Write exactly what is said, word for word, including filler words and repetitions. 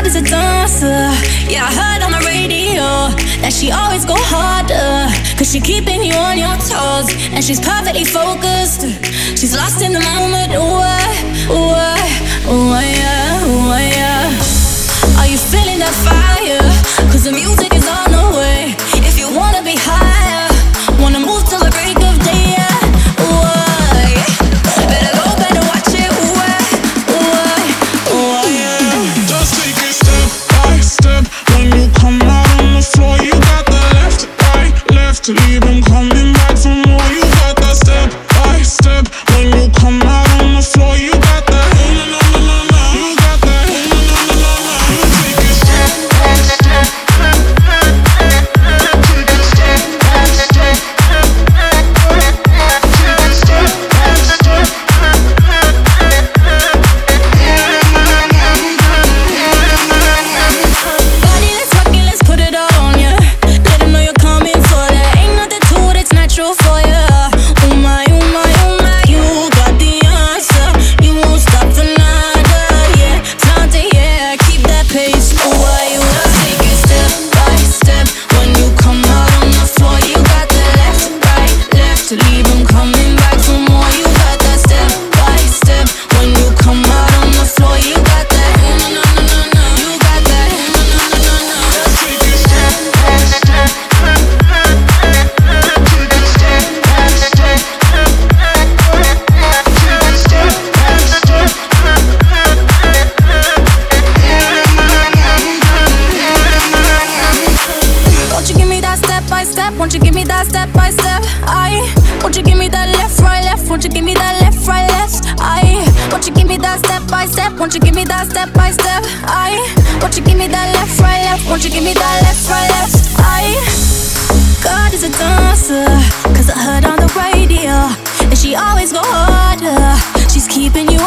is a dancer. Yeah, I heard on the radio that she always go harder, cause she keeping you on your toes, and she's perfectly focused. She's lost in the moment. Ooh, uh, ooh, uh, ooh, uh, yeah, ooh, uh, yeah. Are you feeling that fire? Cause the music is on the way. If you wanna be higher, wanna move till the break of day, yeah. Ooh, uh, yeah. Better go, better watch it. Ooh, uh, ooh, uh, ooh, uh, yeah. Just take it step by step. When you come out on the floor, you got the left, right, left. Leave them coming back for more. You got that step by step. When you come out on the floor, you got that. No, no, no, no, no. You got that. No, no, no, no, no. You take it step by step. Take it step by step. Take it step by step. Body, let's rock it, let's put it all on ya. Let them know you're coming for that. Ain't nothing to it, it's natural for ya. Oh my, oh my, oh my, you got the answer. You won't stop for nada, yeah. Time to, yeah, keep that pace. Oh, why you wanna take it step by step. When you come out on the floor, you got the left, right, left. Leave them coming back for more. You got that step by step. When you come out on the floor, you got that. No, no, no, no, no, no. You got that. No, no, no, no, no. Just take it step by step. Take it step by step. Take it step by step. Won't you give me that step by step? Won't you give me that step by step? I won't you give me that left, right, left? Won't you give me that left, right, left? I won't you give me that step by step? Won't you give me that step by step? I won't you give me that left, right, left? Won't you give me that left, right, left? I God is a dancer, cause I heard on the radio that she always go harder. She's keeping you